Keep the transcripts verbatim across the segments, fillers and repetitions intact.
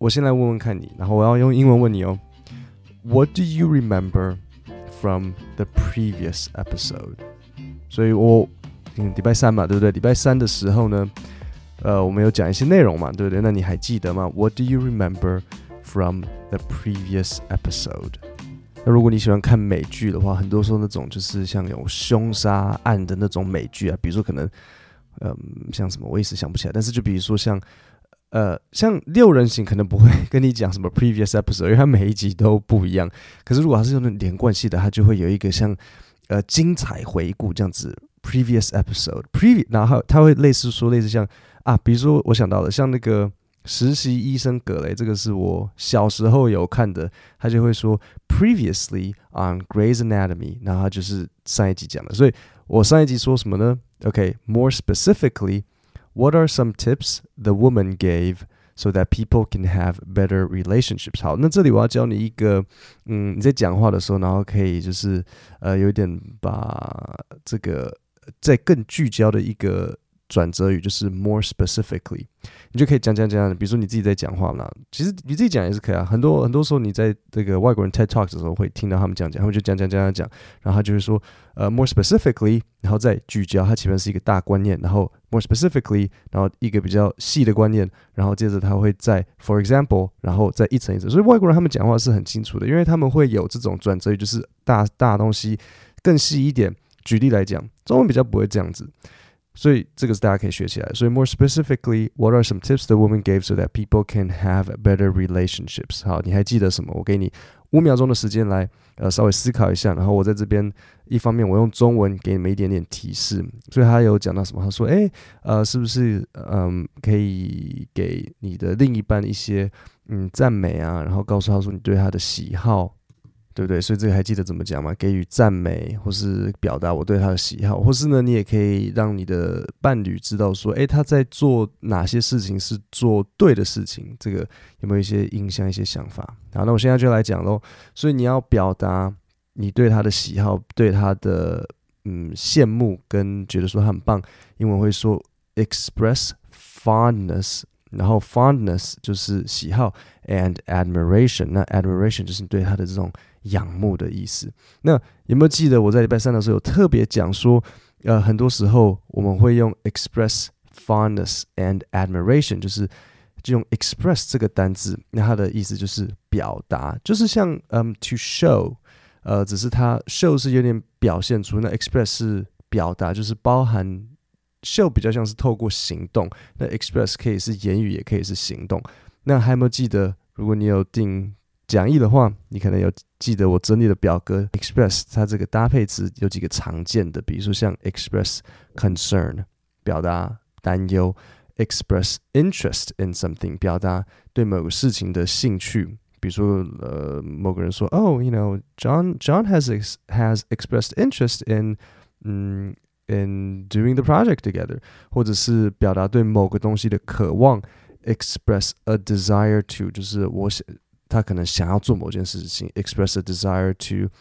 我先來問問看你，然後我要用英文問你哦。What do you remember from the previous episode？ 所以我嗯，禮拜三嘛，對不對？禮拜三的時候呢，呃，我們有講一些內容嘛，對不對？那你還記得嗎 ？What do you remember from the previous episode？ 那如果你喜歡看美劇的話，很多時候那種就是像有兇殺案的那種美劇啊，比如說可能，嗯，像什麼我一時想不起來，但是就比如說像。呃，像六人行可能不會跟你講什麼 previous episode，因為它每一集都不一樣。可是如果它是用那種連貫系的，它就會有一個像呃精彩回顧這樣子 previous episode，previous， 然後它會類似說類似像啊，比如說我想到了像那個實習醫生格雷，這個是我小時候有看的，他就會說 previously on Grey's Anatomy， 然後他就是上一集講的。所以我上一集說什麼呢 ？OK，more specifically。What are some tips the woman gave so that people can have better relationships? 好，那這裡我要教你一個，嗯，你在講話的時候，然後可以就是呃，有一點把這個再更聚焦的一個轉折語，就是 more specifically， 你就可以講講講，比如說你自己在講話嘛，其實你自己講也是可以啊。很多很多時候你在這個外國人 TED Talk 的時候會聽到他們講講，他們就講講講講講，然後他就是說呃 more specifically， 然後再聚焦，它前面是一個大觀念，然後 more specifically， 然後一個比較細的觀念，然後接着他會再 for example， 然後再一層一層。所以外國人他們講話是很清楚的，因為他們會有這種轉折語，就是大大東西更細一點。舉例來講，中文比較不會這樣子。所以這個是大家可以學起來。所以 more specifically, what are some tips the woman gave so that people can have better relationships？ 好，你還記得什麼？我給你五秒鐘的時間來，呃，稍微思考一下。然後我在這邊一方面我用中文給你們一點點提示。所以他有講到什麼？他說，哎，呃，是不是嗯可以給你的另一半一些嗯讚美啊？然後告訴他說你對他的喜好。對不對？所以這個還記得怎麼講嗎？給予讚美，或是表達我對他的喜好，或是呢，你也可以讓你的伴侶知道說，誒，他在做哪些事情是做對的事情。這個有沒有一些印象、一些想法？好，那我現在就來講嘍。所以你要表達你對他的喜好，對他的嗯羨慕，跟覺得說他很棒。英文會說 express fondness。然後 fondness 就是喜好 and admiration， 那 admiration 就是你對他的這種仰慕的意思。那有沒有記得我在禮拜三的時候有特別講說，呃，很多時候我們會用 express fondness and admiration， 就是就用 express 這個單字，那它的意思就是表達，就是像嗯 to show， 呃，只是它 show 是有點表現出，那 express 是表達，就是包含。show 比較像是透過行動，那 express 可以是言語，也可以是行動。那還有沒有記得，如果你有訂講義的話，你可能有記得我整理的表格 express 它這個搭配詞有幾個常見的，比如說像 express concern 表達擔憂， express interest in something 表達對某個事情的興趣，比如說呃某個人說 oh you know John John has ex, has expressed interest in 嗯in doing the project together， 或者是表達對某個東西的渴望 express a desire to， 就是我想他可能想要做某件事情 express a desire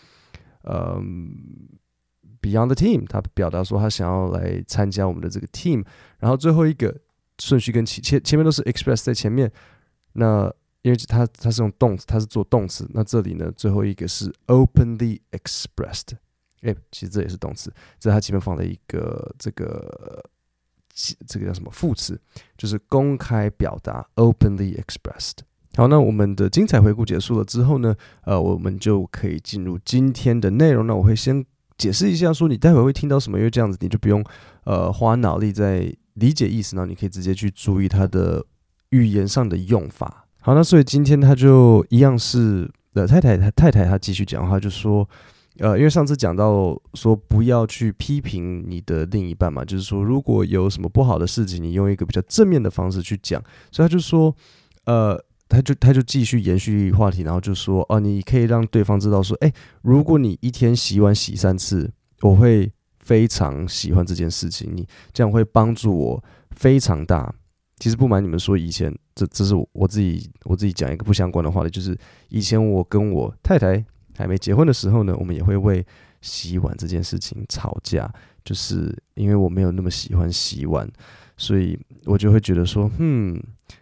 to、um, be on the team， 他表達說他想要來參加我們的這個 team。然後最後一個順序跟前前面都是 express 在前面，那因為他他是用動詞，他是做動詞，那這裡呢最後一個是 openly expressed。哎，其實這也是動詞，這是它前面放了一個這個這個叫什麼副詞，就是公開表達 openly expressed。好，那我們的精彩回顧結束了之後呢，呃，我們就可以進入今天的內容。那我會先解釋一下，說你待會會聽到什麼，因為這樣子你就不用呃花腦力在理解意思，然後你可以直接去注意它的語言上的用法。好，那所以今天他就一樣是呃太太太太她繼續講話，就說。呃，因為上次講到說不要去批評你的另一半嘛，就是說如果有什麼不好的事情，你用一個比較正面的方式去講，所以他就說，呃，他就他就繼續延續話題，然後就說，哦，你可以讓對方知道說，哎，如果你一天洗碗洗三次，我會非常喜歡這件事情，你這樣會幫助我非常大。其實不瞞你們說，以前這這是我自己我自己講一個不相關的話題，就是以前我跟我太太。還沒結婚的時候呢，我們也會為洗碗這件事情吵架，就是因為我沒有那麼喜歡洗碗，所以我就會覺得說，嗯，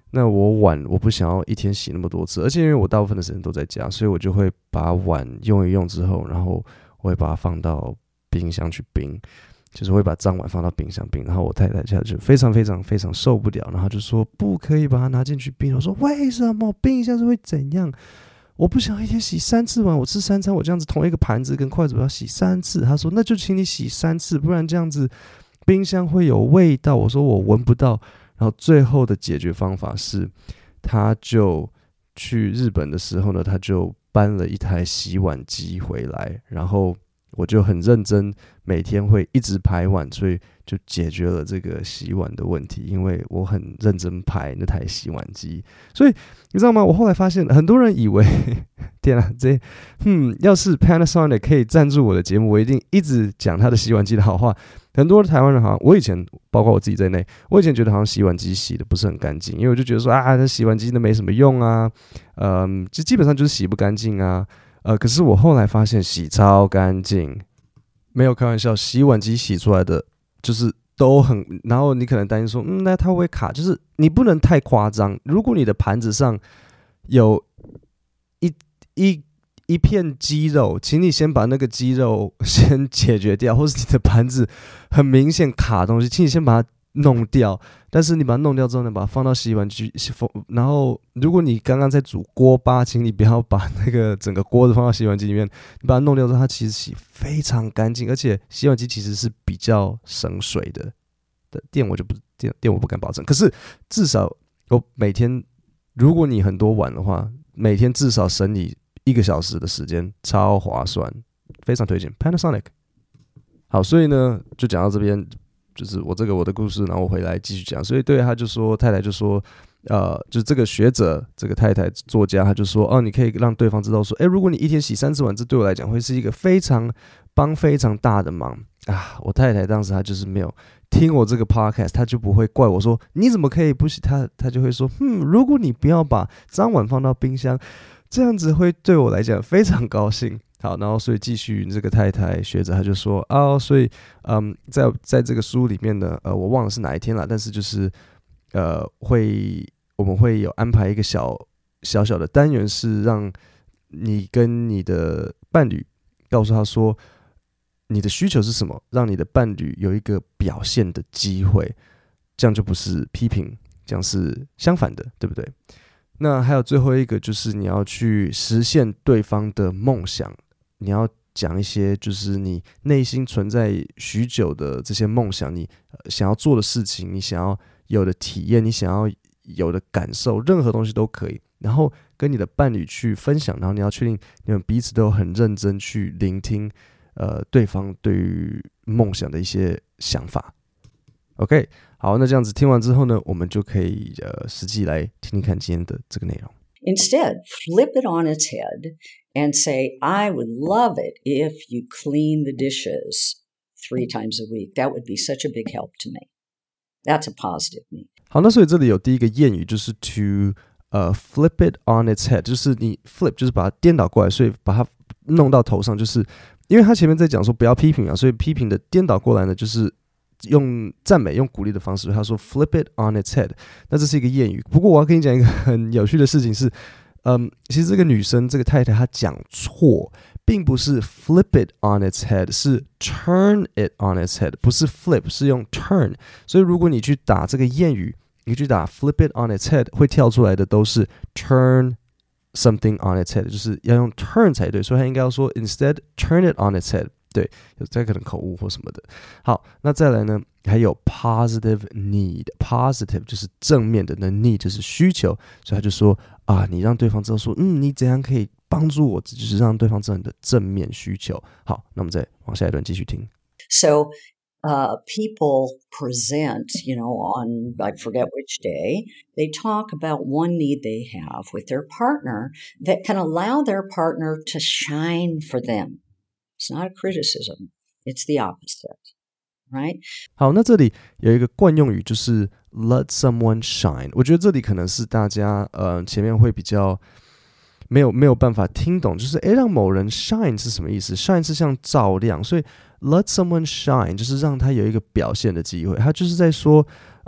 那我碗我不想要一天洗那麼多次，而且因為我大部分的時間都在家，所以我就會把碗用一用之後，然後我會把它放到冰箱去冰，就是會把髒碗放到冰箱冰。然後我太太就非常非常非常受不了，然後就說不可以把它拿進去冰。我說為什麼冰一下子會怎樣？我不想一天洗三次碗，我吃三餐，我這樣子同一個盤子跟筷子我要洗三次。他說那就請你洗三次，不然這樣子冰箱會有味道。我說我聞不到。然後最後的解決方法是，他就去日本的時候呢，他就搬了一台洗碗機回來，然後我就很認真，每天會一直排碗，所以就解決了這個洗碗的問題。因為我很認真排那台洗碗機，所以你知道嗎？我後來發現，很多人以為，天啊，這嗯，要是 Panasonic 可以贊助我的節目，我一定一直講他的洗碗機的好話。很多的台灣人好像，我以前包括我自己在內，我以前覺得好像洗碗機洗的不是很乾淨，因為我就覺得說啊，那洗碗機都沒什麼用啊，嗯，就基本上就是洗不乾淨啊。呃，可是我後來發現洗超乾淨，沒有開玩笑，洗碗機洗出來的就是都很，然後你可能擔心說，嗯，那它會不會卡？就是你不能太誇張。如果你的盤子上有一一一片雞肉，請你先把那個雞肉先解決掉，或是你的盤子很明顯卡東西，請你先把它弄掉。但是你把它弄掉之後呢，把它放到洗碗機，然後如果你剛剛在煮鍋巴，請你不要把那個整個鍋子放到洗碗機裡面，你把它弄掉之後，它其實洗非常乾淨，而且洗碗機其實是比較省水的。的電我就不電電我不敢保證，可是至少我每天，如果你很多碗的話，每天至少省你一個小時的時間，超划算，非常推薦 Panasonic。好，所以呢，就講到這邊。就是我這個我的故事，然後我回來繼續講。所以對他就說，太太就說，呃，就是這個學者，這個太太作家，他就說，哦，你可以讓對方知道說，哎，如果你一天洗三次碗，這對我來講會是一個非常幫非常大的忙啊。我太太當時她就是沒有聽我這個 podcast，她就不會怪我說你怎麼可以不洗，她她就會說，嗯，如果你不要把髒碗放到冰箱，這樣子會對我來講非常高興。好，然後所以繼續這個太太學者他就說哦，所以嗯，在在這個書裡面呢，呃，我忘了是哪一天了，但是就是呃，會我們會有安排一個小小小的單元，是讓你跟你的伴侶告訴他說你的需求是什麼，讓你的伴侶有一個表現的機會，這樣就不是批評，這樣是相反的，對不對？那還有最後一個就是你要去實現對方的夢想。你要講一些就是你內心存在許久的這些夢想，你想要做的事情，你想要有的體驗，你想要有的感受，任何東西都可以。然後跟你的伴侶去分享，然後你要確定你們彼此都很認真去聆聽，呃，對方對於夢想的一些想法。OK， 好，那這樣子聽完之後呢，我們就可以呃實際來聽聽看今天的這個內容。 Instead, flip it on its head and say, I would love it if you clean the dishes three times a week. That would be such a big help to me. That's a positive me. 好，那所以這裡有第一個諺語，就是 to 呃、uh, flip it on its head， 就是你 flip 就是把它顛倒過來，所以把它弄到頭上，就是因為他前面在講說不要批評啊，所以批評的顛倒過來呢，就是用讚美、用鼓勵的方式，他說 flip it on its head， 那這是一個諺語。不過我要跟你講一個很有趣的事情是，嗯，其實這個女生這個太太她講錯，並不是 flip it on its head， 是 turn it on its head， 不是 flip， 是用 turn。所以如果你去打這個諺語，你去打 flip it on its head， 會跳出來的都是 turn something on its head， 就是要用 turn 才對。所以他應該要說 instead turn it on its head。對，有這可能口誤或什麼的。好，那再來呢，還有 positive need，positive 就是正面的，那 need 就是需求，所以他就說啊，你讓對方知道說，嗯，你怎樣可以幫助我，就是讓對方知道你的正面需求。好，那我們再往下一段繼續聽。 So, uh, people present, you know, on I forget which day, they talk about one need they have with their partner that can allow their partner to shine for them.It's not a criticism. It's the opposite, right? 好，那這裡有一個慣用語，就是 let someone shine。我覺得這裡可能是大家呃前面會比較沒有沒有辦法聽懂，就是誒讓某人 shine 是什麼意思 ？shine 是像照亮，所以 let someone shine 就是讓他有一個表現的機會。他就是在說，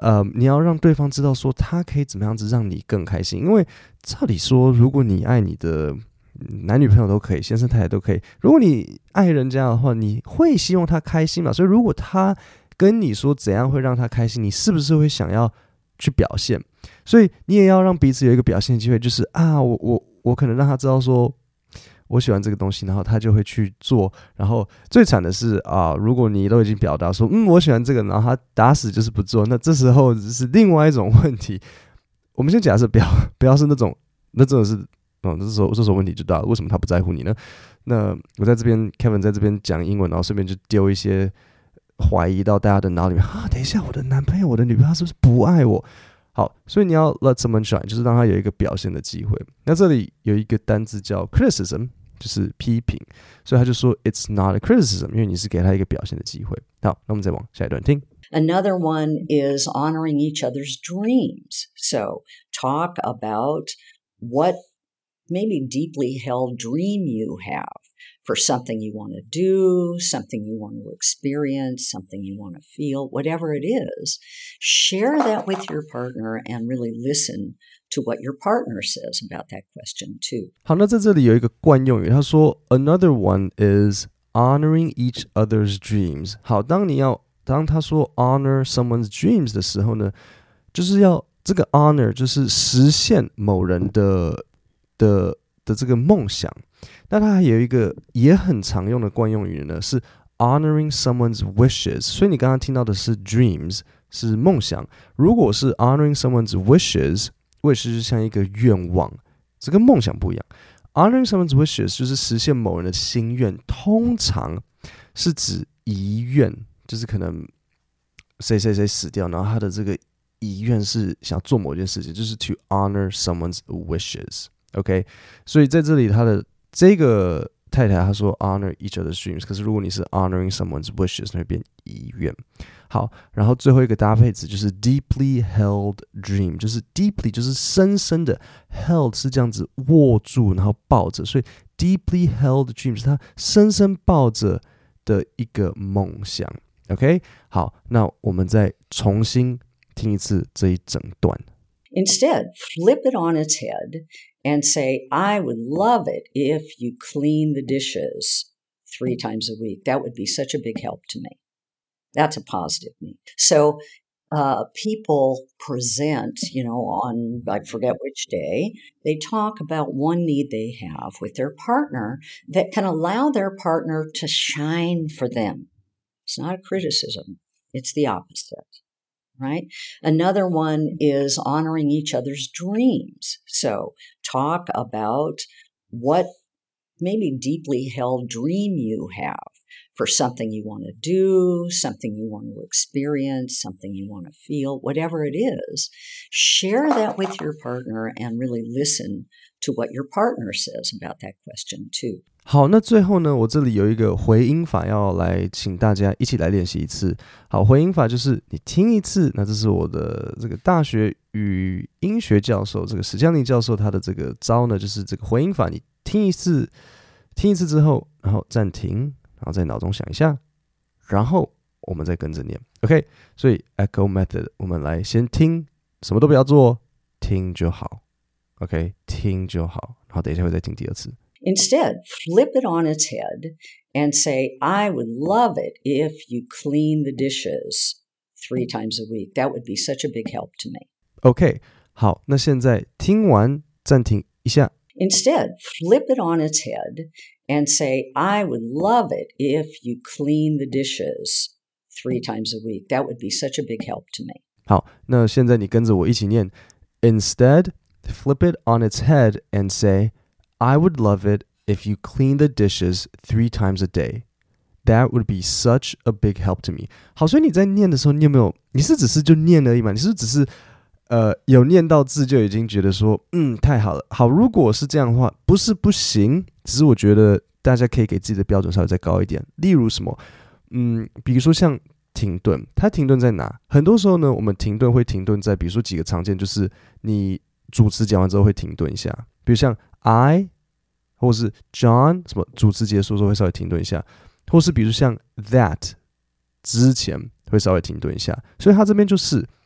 呃，你要讓對方知道說他可以怎麼樣子讓你更開心。因為照理說，如果你愛你的男女朋友都可以，先生太太都可以，如果你愛人家的話，你會希望他開心嘛？所以如果他跟你說怎樣會讓他開心，你是不是會想要去表現？所以你也要讓彼此有一個表現機會，就是啊，我我我可能讓他知道說我喜歡這個東西，然後他就會去做。然後最慘的是啊，如果你都已經表達說嗯我喜歡這個，然後他打死就是不做，那這時候是另外一種問題。我們先假設不要不要是那種，那真的是哦，這時候這時候問題就大了，為什麼他不在乎你呢？那我在這邊 Kevin 在這邊講英文，然後順便就丟一些懷疑到大家的腦裡面啊，等一下我的男朋友我的女朋友是不是不愛我？好，所以你要 let someone shine， 就是讓他有一個表現的機會。那這裡有一個單字叫 criticism， 就是批評，所以他就說 it's not a criticism， 因為你是給他一個表現的機會。好，那我們再往下一段聽。 Another one is honoring each other's dreams. So talk about what maybe deeply held dream you have for something you want to do, something you want to experience, something you want to feel, whatever it is. Share that with your partner and really listen to what your partner says about that question too. 好，那在這裡有一個慣用語，他說 Another one is honoring each other's dreams. 好，當你要當他說 honor someone's dreams 的時候呢，就是要這個 honor 就是實現某人的的的這個夢想。那它還有一個也很常用的慣用語呢，是 honoring someone's wishes。所以你剛剛聽到的是 dreams， 是夢想。如果是 honoring someone's wishes，wish 就是像一個願望，這跟夢想不一樣。honoring someone's wishes 就是實現某人的心願，通常是指遺願，就是可能誰誰誰死掉，然後他的這個遺願是想做某件事情，就是 to honor someone's wishes。OK， 所以在這裡他的這個太太她說 honor each other's dreams， 可是如果你是 honoring someone's wishes， 那會變遺願。好，然後最後一個搭配詞就是 deeply held dream， 就是 deeply 就是深深的 held 是這樣子握住然後抱着，所以 deeply held dream 是他深深抱着的一個夢想。OK， 好，那我們再重新聽一次這一整段。 Instead, flip it on its head and say, I would love it if you clean the dishes three times a week. That would be such a big help to me. That's a positive me. So uh, people present, you know, on, I forget which day, they talk about one need they have with their partner that can allow their partner to shine for them. It's not a criticism. It's the opposite.Right? Another one is honoring each other's dreams. So talk about what maybe deeply held dream you have for something you want to do, something you want to experience, something you want to feel, whatever it is. Share that with your partner and really listen to what your partner says about that question too. 好，那最後呢，我這裡有一個回音法要來請大家一起來練習一次。好，回音法就是你聽一次，那這是我的這個大學語音學教授這個史江寧教授他的這個招呢，就是這個回音法，你聽一次，聽一次之後，然後暫停，然後在腦中想一下，然後我們再跟着念 ，OK？ 所以 Echo Method， 我們來先聽，什麼都不要做，聽就好 ，OK？ 聽就好，然後等一下會再聽第二次。 Instead, flip it on its head and say, I would love it if you clean the dishes three times a week. That would be such a big help to me. OK， 好，那現在聽完暫停一下。 Instead, flip it on its head and say, I would love it if you clean the dishes three times a week. That would be such a big help to me. 好，那現在你跟着我一起念。Instead, flip it on its head and say,I would love it if you clean the dishes three times a day. That would be such a big help to me. 好，所以你在念的時候，你有沒有？你是只是就念而已嘛？你是不是只是呃有念到字就已經覺得說，嗯，太好了。好，如果是這樣的話，不是不行，只是我覺得大家可以給自己的標準稍微再高一點。例如什麼？嗯，比如說像停頓，它停頓在哪？很多時候呢，我們停頓會停頓在，比如說幾個常見，就是你主詞講完之後會停頓一下，比如像。I 或是 John 什麼主詞結束的時候會稍微停頓一下，或是比如像 that 之前會稍微停頓一下，所以他這邊就是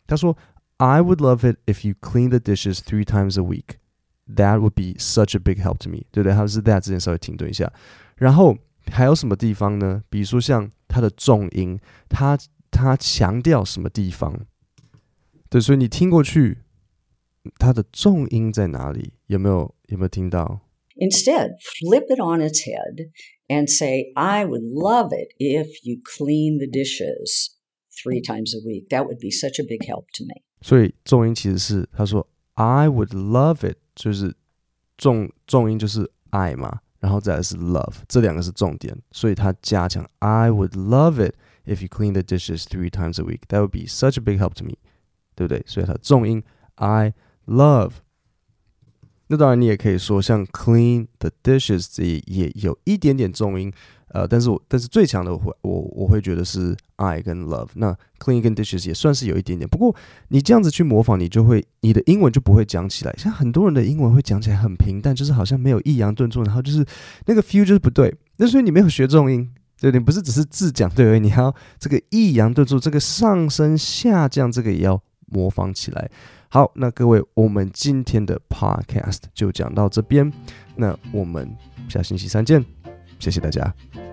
他說 I would love it if you clean the dishes three times a week. That would be such a big help to me. 对不对？他是 that 之前稍微停頓一下。然後還有什麼地方呢？比如說像他的重音，他他強調什麼地方？對，所以你聽過去，它的重音在哪裡？有沒有有沒有聽到？ Instead, flip it on its head and say, I would love it if you clean the dishes three times a week. That would be such a big help to me. 所以重音其實是他說 I would love it， 就是重重音就是 I 嘛，然後再來是 love， 這兩個是重點，所以他加強 I would love it if you clean the dishes three times a week. That would be such a big help to me， 對不對？所以他重音 I love。那當然，你也可以說像 clean the dishes 也也有一點點重音，呃，但是我但是最強的我會我我會覺得是 I 跟 love。那 clean 跟 dishes 也算是有一點點，不過你這樣子去模仿，你就會你的英文就不會講起來。像很多人的英文會講起來很平淡，就是好像沒有抑揚頓挫，然後就是那個 feel 就是不對。那所以你沒有學重音，對，你不是只是字講對而已，你還要這個抑揚頓挫，這個上升下降，這個也要模仿起來。好，那各位，我們今天的 podcast 就講到這邊，那我們下星期三見，謝謝大家。